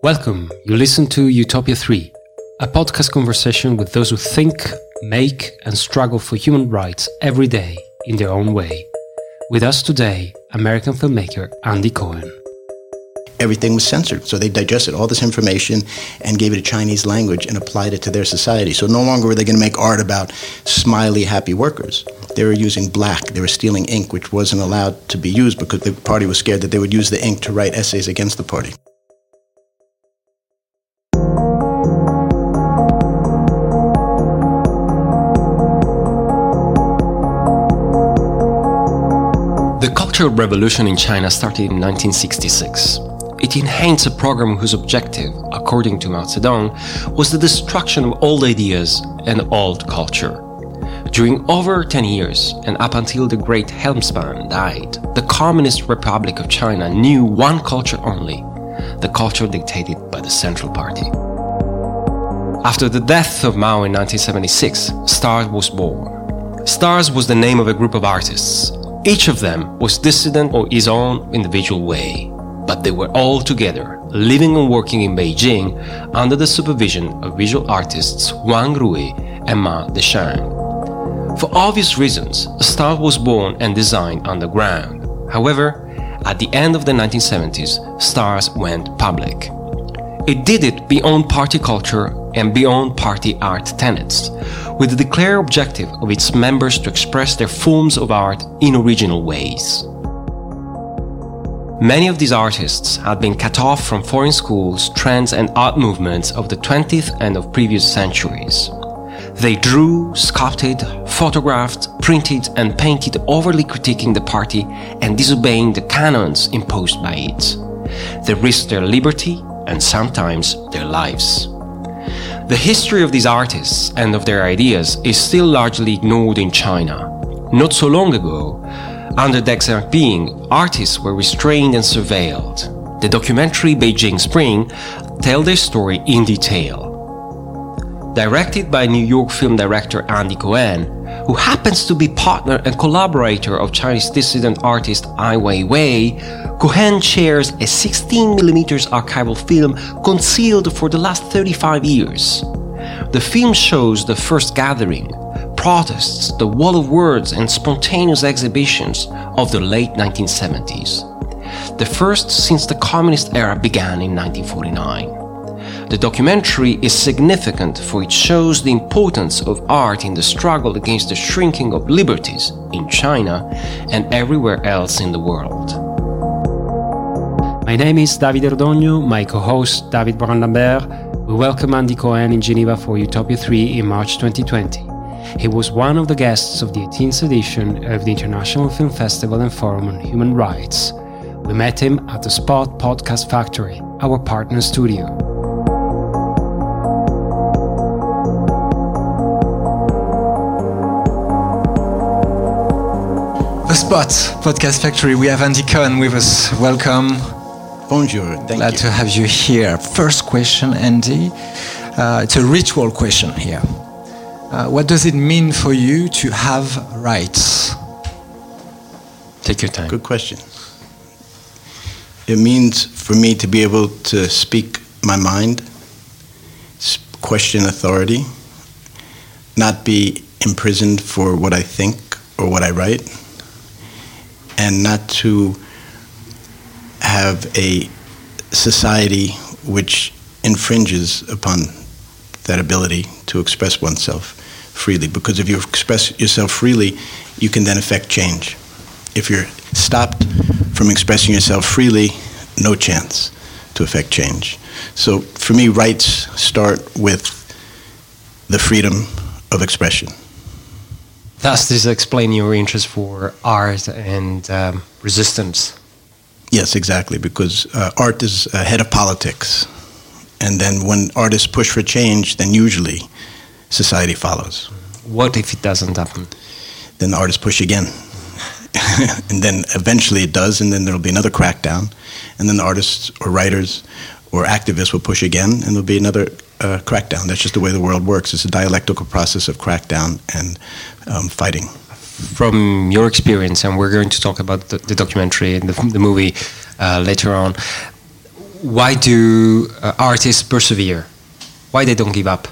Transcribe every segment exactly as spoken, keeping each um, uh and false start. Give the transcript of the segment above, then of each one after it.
Welcome. You listen to Utopia three, a podcast conversation with those who think, make, and struggle for human rights every day in their own way. With us today, American filmmaker Andy Cohen. Everything was censored, so they digested all this information and gave it a Chinese language and applied it to their society. So no longer were they going to make art about smiley, happy workers. They were using black. They were stealing ink, which wasn't allowed to be used because the party was scared that they would use the ink to write essays against the party. The Cultural Revolution in China started in nineteen sixty-six. It enhanced a program whose objective, according to Mao Zedong, was the destruction of old ideas and old culture. During over ten years, and up until the great Helmspan died, the Communist Republic of China knew one culture only, the culture dictated by the Central Party. After the death of Mao in nineteen seventy-six, STARS was born. STARS was the name of a group of artists. Each of them was dissident or his own individual way, but they were all together, living and working in Beijing under the supervision of visual artists Wang Rui and Ma Deshang. For obvious reasons, STARS was born and designed underground. However, at the end of the nineteen seventies, STARS went public. It did it beyond party culture and beyond party art tenets, with the declared objective of its members to express their forms of art in original ways. Many of these artists had been cut off from foreign schools, trends and art movements of the twentieth and of previous centuries. They drew, sculpted, photographed, printed and painted, overly critiquing the party and disobeying the canons imposed by it. They risked their liberty and sometimes their lives. The history of these artists and of their ideas is still largely ignored in China. Not so long ago, under Deng Xiaoping, artists were restrained and surveilled. The documentary Beijing Spring tells their story in detail. Directed by New York film director Andy Cohen, who happens to be partner and collaborator of Chinese dissident artist Ai Weiwei, Cohen shares a sixteen millimeter archival film concealed for the last thirty-five years. The film shows the first gathering, protests, the wall of words and spontaneous exhibitions of the late nineteen seventies. The first since the communist era began in nineteen forty-nine. The documentary is significant for it shows the importance of art in the struggle against the shrinking of liberties in China and everywhere else in the world. My name is David Erdogno, my co-host David Brand-Lambert. We welcome Andy Cohen in Geneva for Utopia three in March twenty twenty. He was one of the guests of the eighteenth edition of the International Film Festival and Forum on Human Rights. We met him at the Spot Podcast Factory, our partner studio. The Spot Podcast Factory, we have Andy Cohen with us. Welcome. Bonjour, thank Glad you. to have you here. First question, Andy. Uh, it's a ritual question here. Uh, what does it mean for you to have rights? Take your time. Good question. It means for me to be able to speak my mind, question authority, not be imprisoned for what I think or what I write, and not to have a society which infringes upon that ability to express oneself freely. Because if you express yourself freely, you can then affect change. If you're stopped from expressing yourself freely, no chance to affect change. So for me, rights start with the freedom of expression. Does this explain your interest for art and um, resistance? Yes, exactly, because uh, art is ahead of politics. And then when artists push for change, then usually society follows. What if it doesn't happen? Then the artists push again. And then eventually it does, and then there'll be another crackdown. And then the artists or writers or activists will push again, and there'll be another uh, crackdown. That's just the way the world works. It's a dialectical process of crackdown and um, fighting. From your experience, and we're going to talk about the, the documentary and the, the movie uh, later on, why do uh, artists persevere? Why they don't give up?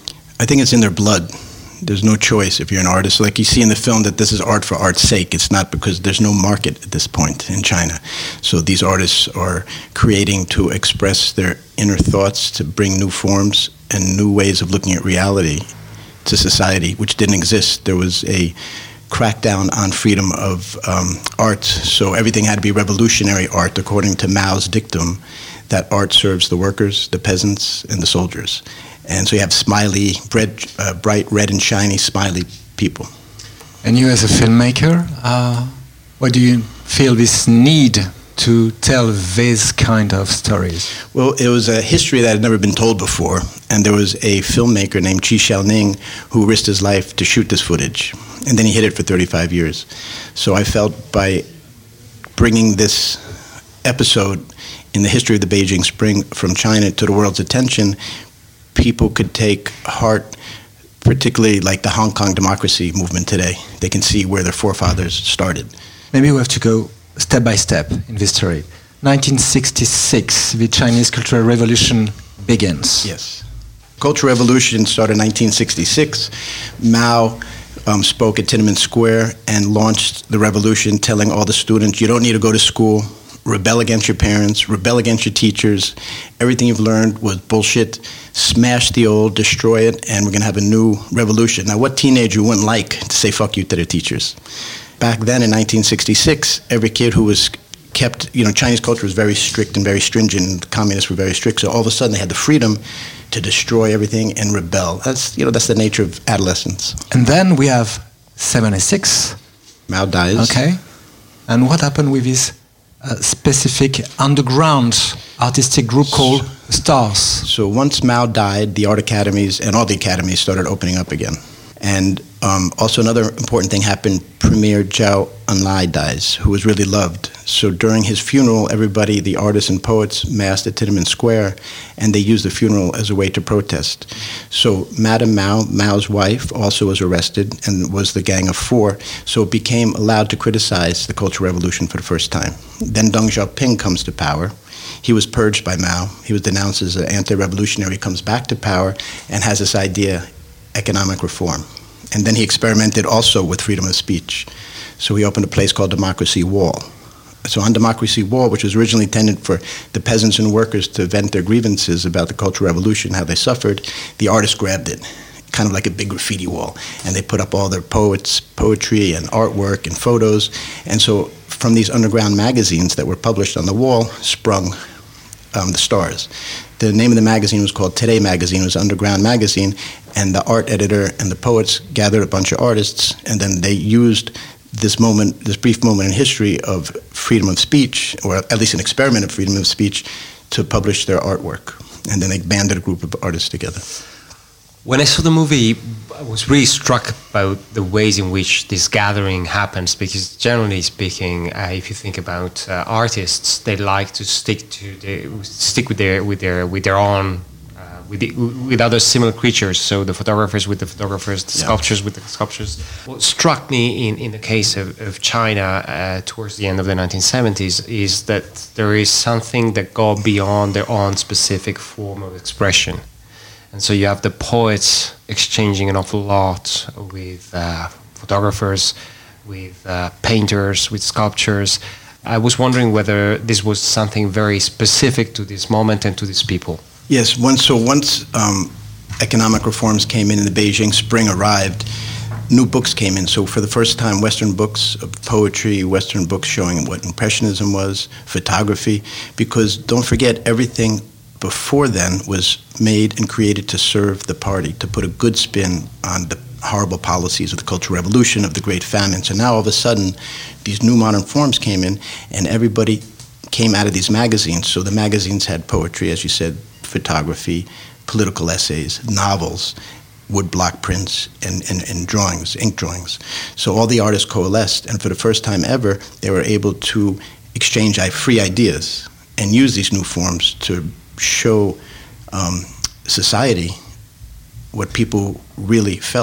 I think it's in their blood. There's no choice if you're an artist. Like you see in the film that this is art for art's sake. It's not because there's no market at this point in China. So these artists are creating to express their inner thoughts, to bring new forms and new ways of looking at reality to society, which didn't exist. There was a crackdown on freedom of um, art, so everything had to be revolutionary art, according to Mao's dictum, that art serves the workers, the peasants, and the soldiers. And so you have smiley, red, uh, bright red and shiny smiley people. And you as a filmmaker, uh, why do you feel this need to tell these kind of stories? Well, it was a history that had never been told before, and there was a filmmaker named Qi Xiaoning who risked his life to shoot this footage, and then he hid it for thirty-five years. So I felt by bringing this episode in the history of the Beijing Spring from China to the world's attention, people could take heart, particularly like the Hong Kong democracy movement today. They can see where their forefathers started. Maybe we have to go step by step in this story. nineteen sixty-six, the Chinese Cultural Revolution begins. Yes. Cultural Revolution started in nineteen sixty-six. Mao um, spoke at Tiananmen Square and launched the revolution, telling all the students, you don't need to go to school, rebel against your parents, rebel against your teachers. Everything you've learned was bullshit. Smash the old, destroy it, and we're going to have a new revolution. Now, what teenager wouldn't like to say fuck you to their teachers? Back then in nineteen sixty-six, every kid who was kept, you know, Chinese culture was very strict and very stringent, and the communists were very strict, so all of a sudden they had the freedom to destroy everything and rebel. That's, you know, that's the nature of adolescence. And then we have seventy-six. Mao dies. Okay. And what happened with this uh, specific underground artistic group called Stars? So once Mao died, the art academies and all the academies started opening up again. And um, also another important thing happened. Premier Zhao Enlai dies, who was really loved. So during his funeral, everybody, the artists and poets, massed at Tiananmen Square, and they used the funeral as a way to protest. So Madame Mao, Mao's wife, also was arrested and was the Gang of Four. So it became allowed to criticize the Cultural Revolution for the first time. Then Deng Xiaoping comes to power. He was purged by Mao. He was denounced as an anti-revolutionary, comes back to power, and has this idea, economic reform. And then he experimented also with freedom of speech. So he opened a place called Democracy Wall. So on Democracy Wall, which was originally intended for the peasants and workers to vent their grievances about the Cultural Revolution, how they suffered, the artists grabbed it, kind of like a big graffiti wall. And they put up all their poets, poetry and artwork and photos. And so from these underground magazines that were published on the wall sprung um, the Stars. The name of the magazine was called Today Magazine. It was an underground magazine, and the art editor and the poets gathered a bunch of artists, and then they used this moment, this brief moment in history of freedom of speech, or at least an experiment of freedom of speech, to publish their artwork. And then they banded a group of artists together. When I saw the movie, I was really struck by the ways in which this gathering happens, because generally speaking, uh, if you think about uh, artists, they like to stick to the, stick with their with their with their own uh, with the, with other similar creatures. So the photographers with the photographers, the yeah. sculptures with the sculptures. What struck me in, in the case of, of China uh, towards the end of the nineteen seventies is that there is something that goes beyond their own specific form of expression. And so you have the poets exchanging an awful lot with uh, photographers, with uh, painters, with sculptures. I was wondering whether this was something very specific to this moment and to these people. Yes, once, so once um, economic reforms came in and the Beijing Spring arrived, new books came in. So for the first time, Western books of poetry, Western books showing what Impressionism was, photography, because don't forget, everything before then was made and created to serve the party, to put a good spin on the horrible policies of the Cultural Revolution, of the Great Famine. So now all of a sudden, these new modern forms came in, and everybody came out of these magazines. So the magazines had poetry, as you said, photography, political essays, novels, woodblock prints, and, and, and drawings, ink drawings. So all the artists coalesced, and for the first time ever, they were able to exchange free ideas and use these new forms to show um, society what people really felt.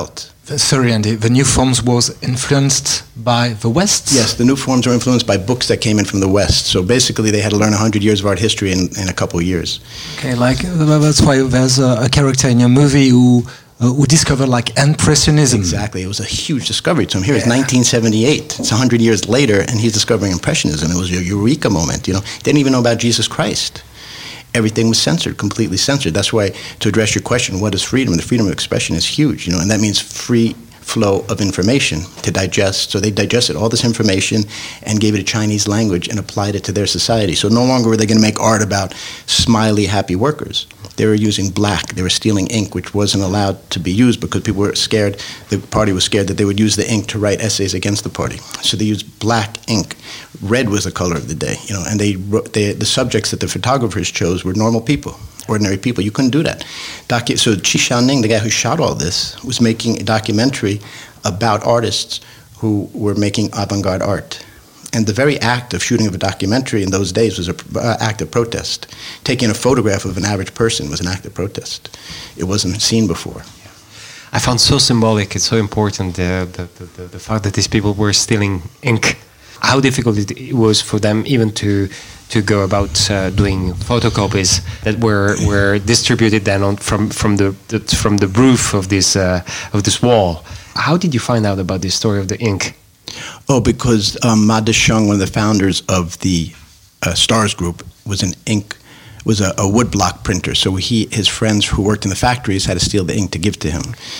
Sorry, Andy, the new forms was influenced by the West? Yes, the new forms were influenced by books that came in from the West. So basically they had to learn one hundred years of art history in, in a couple of years. Okay, like that's why there's a, a character in your movie who uh, who discovered like Impressionism. Exactly, it was a huge discovery to him. Here yeah. It's nineteen seventy-eight, it's one hundred years later, and he's discovering Impressionism. It was a eureka moment, you know. Didn't even know about Jesus Christ. Everything was censored, completely censored. That's why, to address your question, what is freedom? The freedom of expression is huge, you know, and that means free flow of information to digest. So they digested all this information and gave it a Chinese language and applied it to their society. So no longer were they going to make art about smiley, happy workers. They were using black. They were stealing ink, which wasn't allowed to be used because people were scared. The party was scared that they would use the ink to write essays against the party. So they used black ink. Red was the color of the day, you know. And they, wrote, they the subjects that the photographers chose were normal people, ordinary people. You couldn't do that. Docu- so Qi Xiaoning, the guy who shot all this, was making a documentary about artists who were making avant-garde art. And the very act of shooting of a documentary in those days was an uh, act of protest. Taking a photograph of an average person was an act of protest. It wasn't seen before. I found so symbolic, it's so important, uh, the, the, the, the fact that these people were stealing ink. How difficult it was for them even to to go about uh, doing photocopies that were were distributed then on from from the, the from the roof of this uh, of this wall. How did you find out about this story of the ink? Oh, because um, Ma Desheng, one of the founders of the uh, STARS group, was an ink, was a, a woodblock printer. So he, his friends who worked in the factories had to steal the ink to give to him.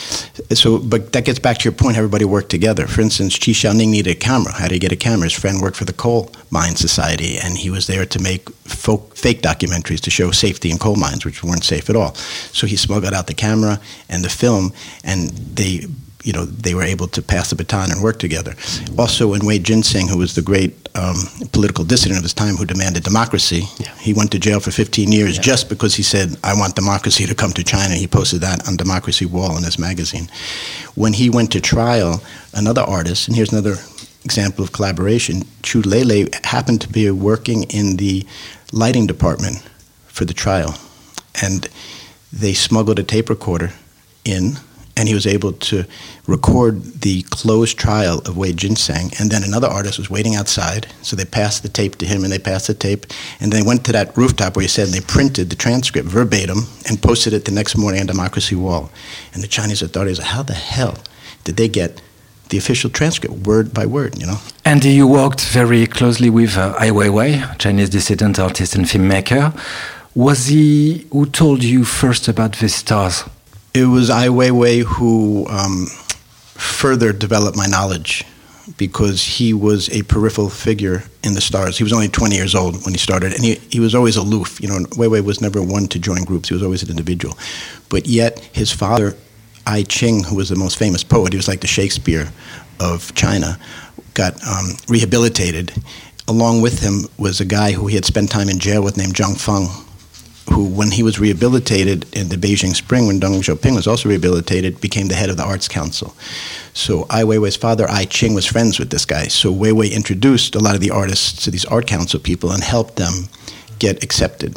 So, but that gets back to your point. Everybody worked together. For instance, Qi Xiaoning needed a camera. How did he get a camera? His friend worked for the Coal Mine Society, and he was there to make folk, fake documentaries to show safety in coal mines, which weren't safe at all. So he smuggled out the camera and the film, and they. You know, they were able to pass the baton and work together. Also, when Wei Jinsing, who was the great um, political dissident of his time who demanded democracy, yeah. he went to jail for fifteen years yeah. just because he said, I want democracy to come to China. He posted that on Democracy Wall in his magazine. When he went to trial, another artist, and here's another example of collaboration, Chu Lele happened to be working in the lighting department for the trial. And they smuggled a tape recorder in, and he was able to record the closed trial of Wei Jinsing. And then another artist was waiting outside, so they passed the tape to him, and they passed the tape. And they went to that rooftop where he said, and they printed the transcript verbatim and posted it the next morning on Democracy Wall. And the Chinese authorities said, how the hell did they get the official transcript, word by word, you know? Andy, you worked very closely with uh, Ai Weiwei, Chinese dissident artist and filmmaker. Was he who told you first about the stars? It was Ai Weiwei who um, further developed my knowledge, because he was a peripheral figure in the STARS. He was only twenty years old when he started, and he, he was always aloof. You know, Weiwei was never one to join groups. He was always an individual. But yet his father, Ai Qing, who was the most famous poet, he was like the Shakespeare of China, got um, rehabilitated. Along with him was a guy who he had spent time in jail with named Zhang Feng, who, when he was rehabilitated in the Beijing Spring, when Deng Xiaoping was also rehabilitated, became the head of the Arts Council. So Ai Weiwei's father, Ai Qing, was friends with this guy. So Weiwei introduced a lot of the artists to these Art Council people and helped them get accepted.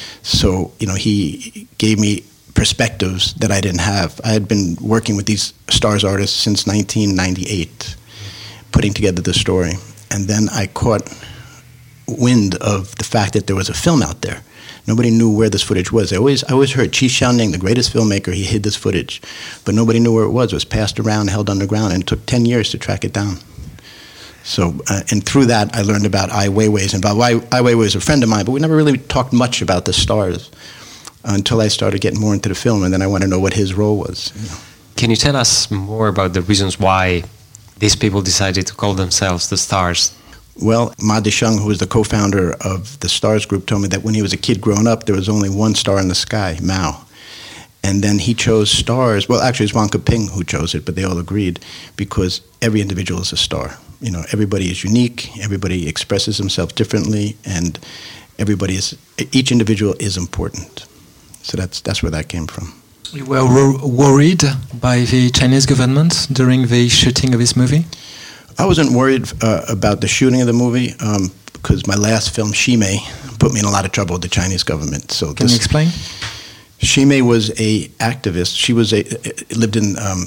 So, you know, he gave me perspectives that I didn't have. I had been working with these STARS artists since nineteen ninety-eight, putting together the story. And then I caught wind of the fact that there was a film out there. Nobody knew where this footage was. I always, I always heard Qi Xiaoning, the greatest filmmaker, he hid this footage. But nobody knew where it was. It was passed around, held underground, and it took ten years to track it down. So, uh, and through that, I learned about Ai Weiwei's involvement. Ai Weiwei was a friend of mine, but we never really talked much about the STARS until I started getting more into the film, and then I wanted to know what his role was. You know. Can you tell us more about the reasons why these people decided to call themselves the STARS? Well, Ma Desheng, who was the co-founder of the STARS group, told me that when he was a kid growing up, there was only one star in the sky, Mao. And then he chose STARS. Well, actually, it's Wang Keping who chose it, but they all agreed, because every individual is a star. You know, everybody is unique, everybody expresses himself differently, and everybody is, each individual is important. So that's that's where that came from. You were wor- worried by the Chinese government during the shooting of this movie? I wasn't worried uh, about the shooting of the movie um, because my last film, Shimei, put me in a lot of trouble with the Chinese government. So Can this, you explain? Shimei was a activist. She was a lived in um,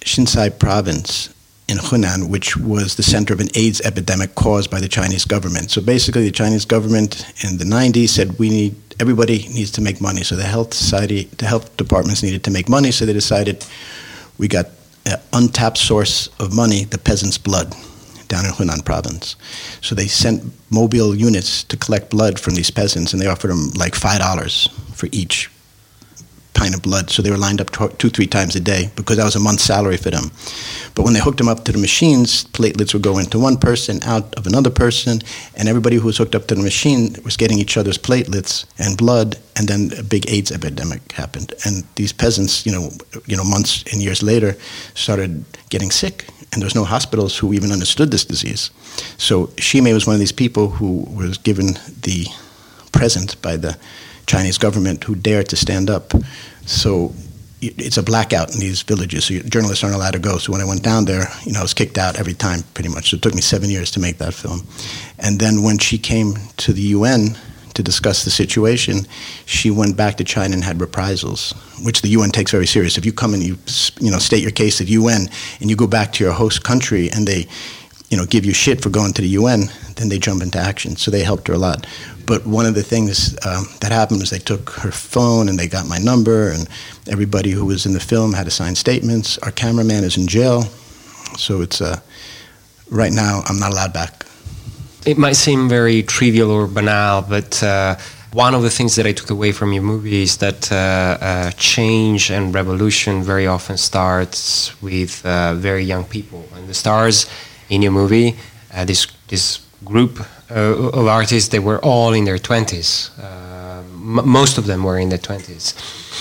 Xinzhai province in Hunan, which was the center of an AIDS epidemic caused by the Chinese government. So basically, the Chinese government in the nineties said we need everybody needs to make money. So the health society, the health departments needed to make money. So they decided we got an untapped source of money, the peasants' blood, down in Hunan province. So they sent mobile units to collect blood from these peasants, and they offered them like five dollars for each pint of blood. So they were lined up two, three times a day because that was a month's salary for them. But when they hooked them up to the machines, platelets would go into one person, out of another person, and everybody who was hooked up to the machine was getting each other's platelets and blood, and then a big AIDS epidemic happened. And these peasants, you know, you know, months and years later, started getting sick, and there was no hospitals who even understood this disease. So Ximei was one of these people who was given the present by the Chinese government who dared to stand up. So it's a blackout in these villages, so journalists aren't allowed to go. So when I went down there, you know, I was kicked out every time, pretty much. So it took me seven years to make that film. And then when she came to the U N to discuss the situation, she went back to China and had reprisals, which the U N takes very serious. If you come and you, you know, state your case at U N and you go back to your host country and they, you know, give you shit for going to the U N, then they jump into action. So they helped her a lot. But one of the things um, that happened was they took her phone and they got my number, and everybody who was in the film had to sign statements. Our cameraman is in jail. So it's, uh, right now, I'm not allowed back. It might seem very trivial or banal, but uh, one of the things that I took away from your movie is that uh, uh, change and revolution very often starts with uh, very young people. And the stars in your movie, uh, this this group uh, of artists, they were all in their twenties. Uh, m- most of them were in their twenties.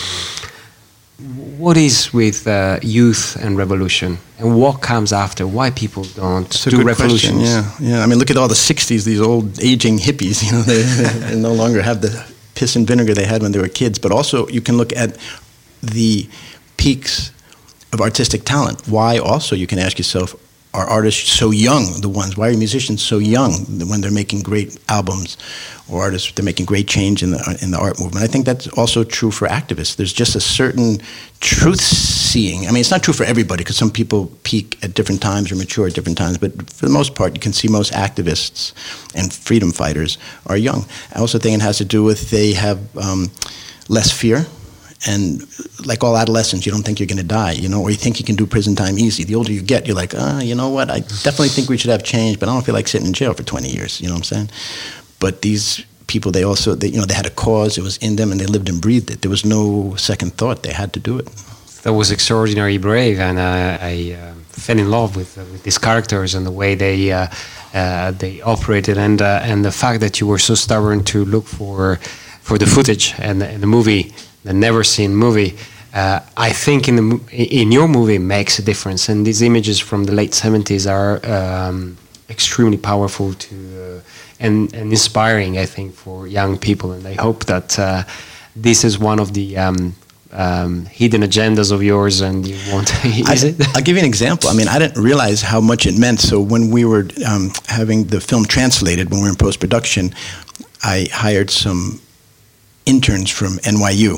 What is with uh, youth and revolution, and what comes after? Why people don't That's do a good revolutions? question. Yeah, yeah. I mean, look at all the sixties. These old aging hippies. You know, they, they no longer have the piss and vinegar they had when they were kids. But also, you can look at the peaks of artistic talent. Why? Also, you can ask yourself, are artists so young? The ones. Why are musicians so young when they're making great albums, or artists they're making great change in the in the art movement? I think that's also true for activists. There's just a certain truth seeing. I mean, it's not true for everybody because some people peak at different times or mature at different times. But for the most part, you can see most activists and freedom fighters are young. I also think it has to do with they have um, less fear. And like all adolescents, you don't think you're going to die, you know, or you think you can do prison time easy. The older you get, you're like, ah, you know what, I definitely think we should have change, but I don't feel like sitting in jail for twenty years, you know what I'm saying? But these people, they also, they, you know, they had a cause, it was in them, and they lived and breathed it. There was no second thought, they had to do it. That was extraordinarily brave, and uh, I uh, fell in love with uh, with these characters and the way they uh, uh, they operated, and uh, and the fact that you were so stubborn to look for for the footage and the, and the movie. The never seen movie, uh, I think in the in your movie makes a difference, and these images from the late seventies are um, extremely powerful to uh, and, and inspiring, I think, for young people. And I hope that uh, this is one of the um, um, hidden agendas of yours, and you want. Is I, it? I'll give you an example. I mean, I didn't realize how much it meant. So when we were um, having the film translated, when we were in post production, I hired some interns from N Y U.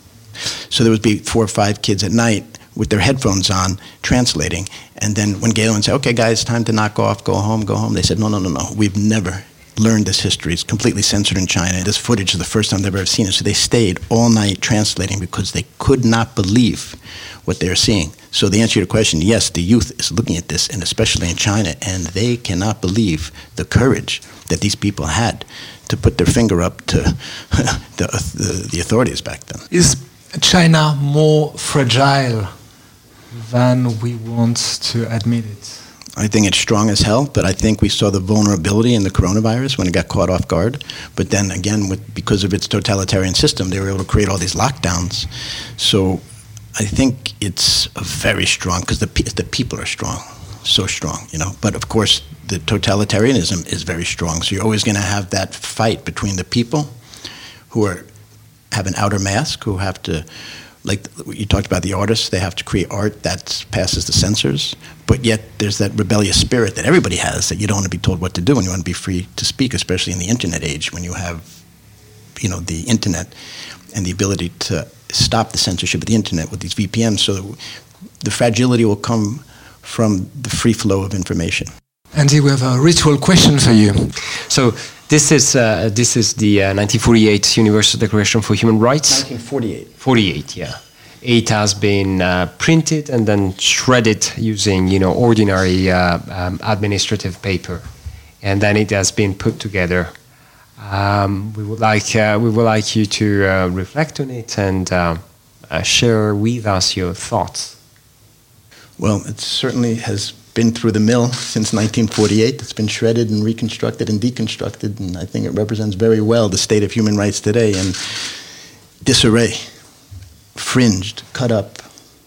So there would be four or five kids at night with their headphones on translating. And then when Galen said, okay, guys, time to knock off, go home, go home, they said, no, no, no, no. We've never learned this history. It's completely censored in China. This footage is the first time they've ever seen it. So they stayed all night translating because they could not believe what they were seeing. So the answer to your question, yes, the youth is looking at this, and especially in China, and they cannot believe the courage that these people had to put their finger up to the, the, the authorities back then. Is China more fragile than we want to admit it? I think it's strong as hell, but I think we saw the vulnerability in the coronavirus when it got caught off guard. But then again, with, because of its totalitarian system, they were able to create all these lockdowns. So I think it's very strong because the, the people are strong, so strong, you know. But of course, the totalitarianism is very strong. So you're always going to have that fight between the people who are have an outer mask, who have to, like you talked about the artists, they have to create art that passes the censors, but yet there's that rebellious spirit that everybody has, that you don't want to be told what to do and you want to be free to speak, especially in the internet age when you have, you know, the internet and the ability to stop the censorship of the internet with these V P Ns. So the fragility will come from the free flow of information. Andy, we have a ritual question for you. So this is uh, this is the uh, nineteen forty-eight Universal Declaration for Human Rights. nineteen forty-eight. forty-eight, yeah. It has been uh, printed and then shredded using, you know, ordinary uh, um, administrative paper, and then it has been put together. Um, we would like uh, we would like you to uh, reflect on it and uh, uh, share with us your thoughts. Well, it certainly has been through the mill since nineteen forty-eight. It's been shredded and reconstructed and deconstructed, and I think it represents very well the state of human rights today in disarray, fringed, cut up.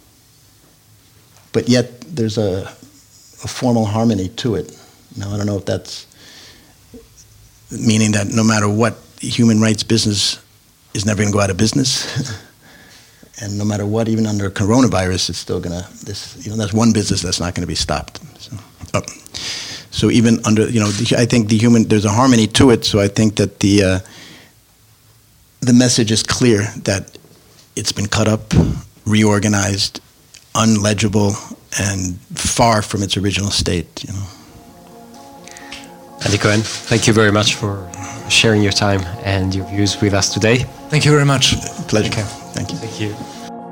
But yet there's a, a formal harmony to it. Now, I don't know if that's meaning that no matter what, human rights business is never going to go out of business. And no matter what, even under coronavirus, it's still going to, this, you know, that's one business that's not going to be stopped. So, oh. so even under, you know, the, I think the human, there's a harmony to it. So I think that the, uh, the message is clear that it's been cut up, reorganized, unlegible, and far from its original state, you know. Andy Cohen, thank you very much for sharing your time and your views with us today. Thank you very much. Pleasure. Okay. Thank you. Thank you.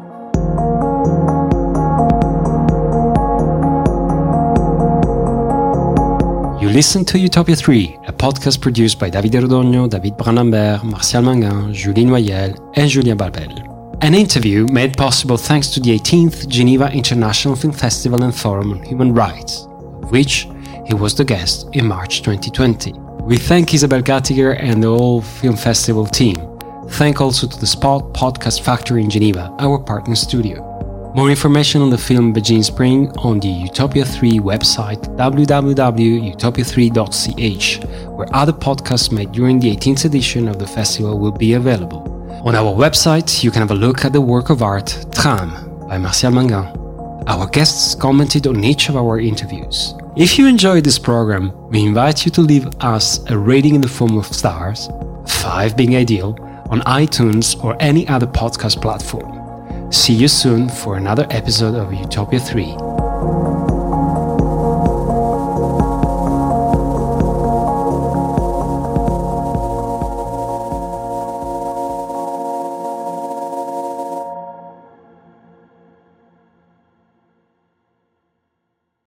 You listen to Utopia three, a podcast produced by Davide Rodogno, David Brandambert, Martial Mangan, Julie Noyel, and Julien Barbel. An interview made possible thanks to the eighteenth Geneva International Film Festival and Forum on Human Rights, of which he was the guest in March twenty twenty. We thank Isabel Gattiger and the whole film festival team. Thank also to the Spot Podcast Factory in Geneva, our partner studio. More information on the film Beijing Spring on the Utopia three website w w w dot utopia three dot c h, where other podcasts made during the eighteenth edition of the festival will be available. On our website, you can have a look at the work of art Tram by Martial Mangan. Our guests commented on each of our interviews. If you enjoyed this program, we invite you to leave us a rating in the form of stars, five being ideal, on iTunes or any other podcast platform. See you soon for another episode of Utopia three.